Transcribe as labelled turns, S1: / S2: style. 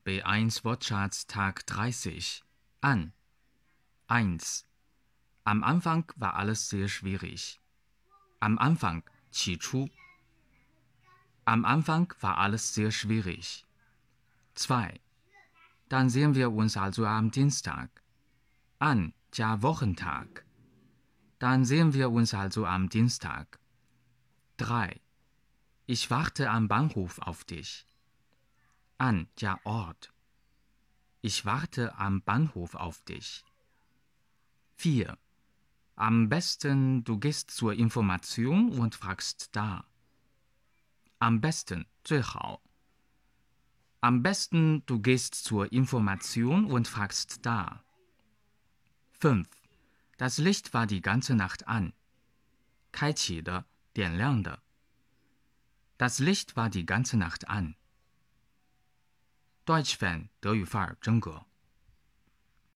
S1: B1 Wortschatz Tag 30. An. 1. Am Anfang war alles sehr schwierig. Am Anfang, 起初. Am Anfang war alles sehr schwierig. 2. Dann sehen wir uns also am Dienstag. An, 加 Wochentag. Dann sehen wir uns also am Dienstag. 3. Ich warte am Bahnhof auf dich. An, 加 Ort. Ich warte am Bahnhof auf dich. 4. Am besten, du gehst zur Information und fragst da. Am besten, 最好. Am besten, du gehst zur Information und fragst da. 5. Das Licht war die ganze Nacht an. 开启的，点亮的. Das Licht war die ganze Nacht an. Deutsch Fan 德语范儿真格。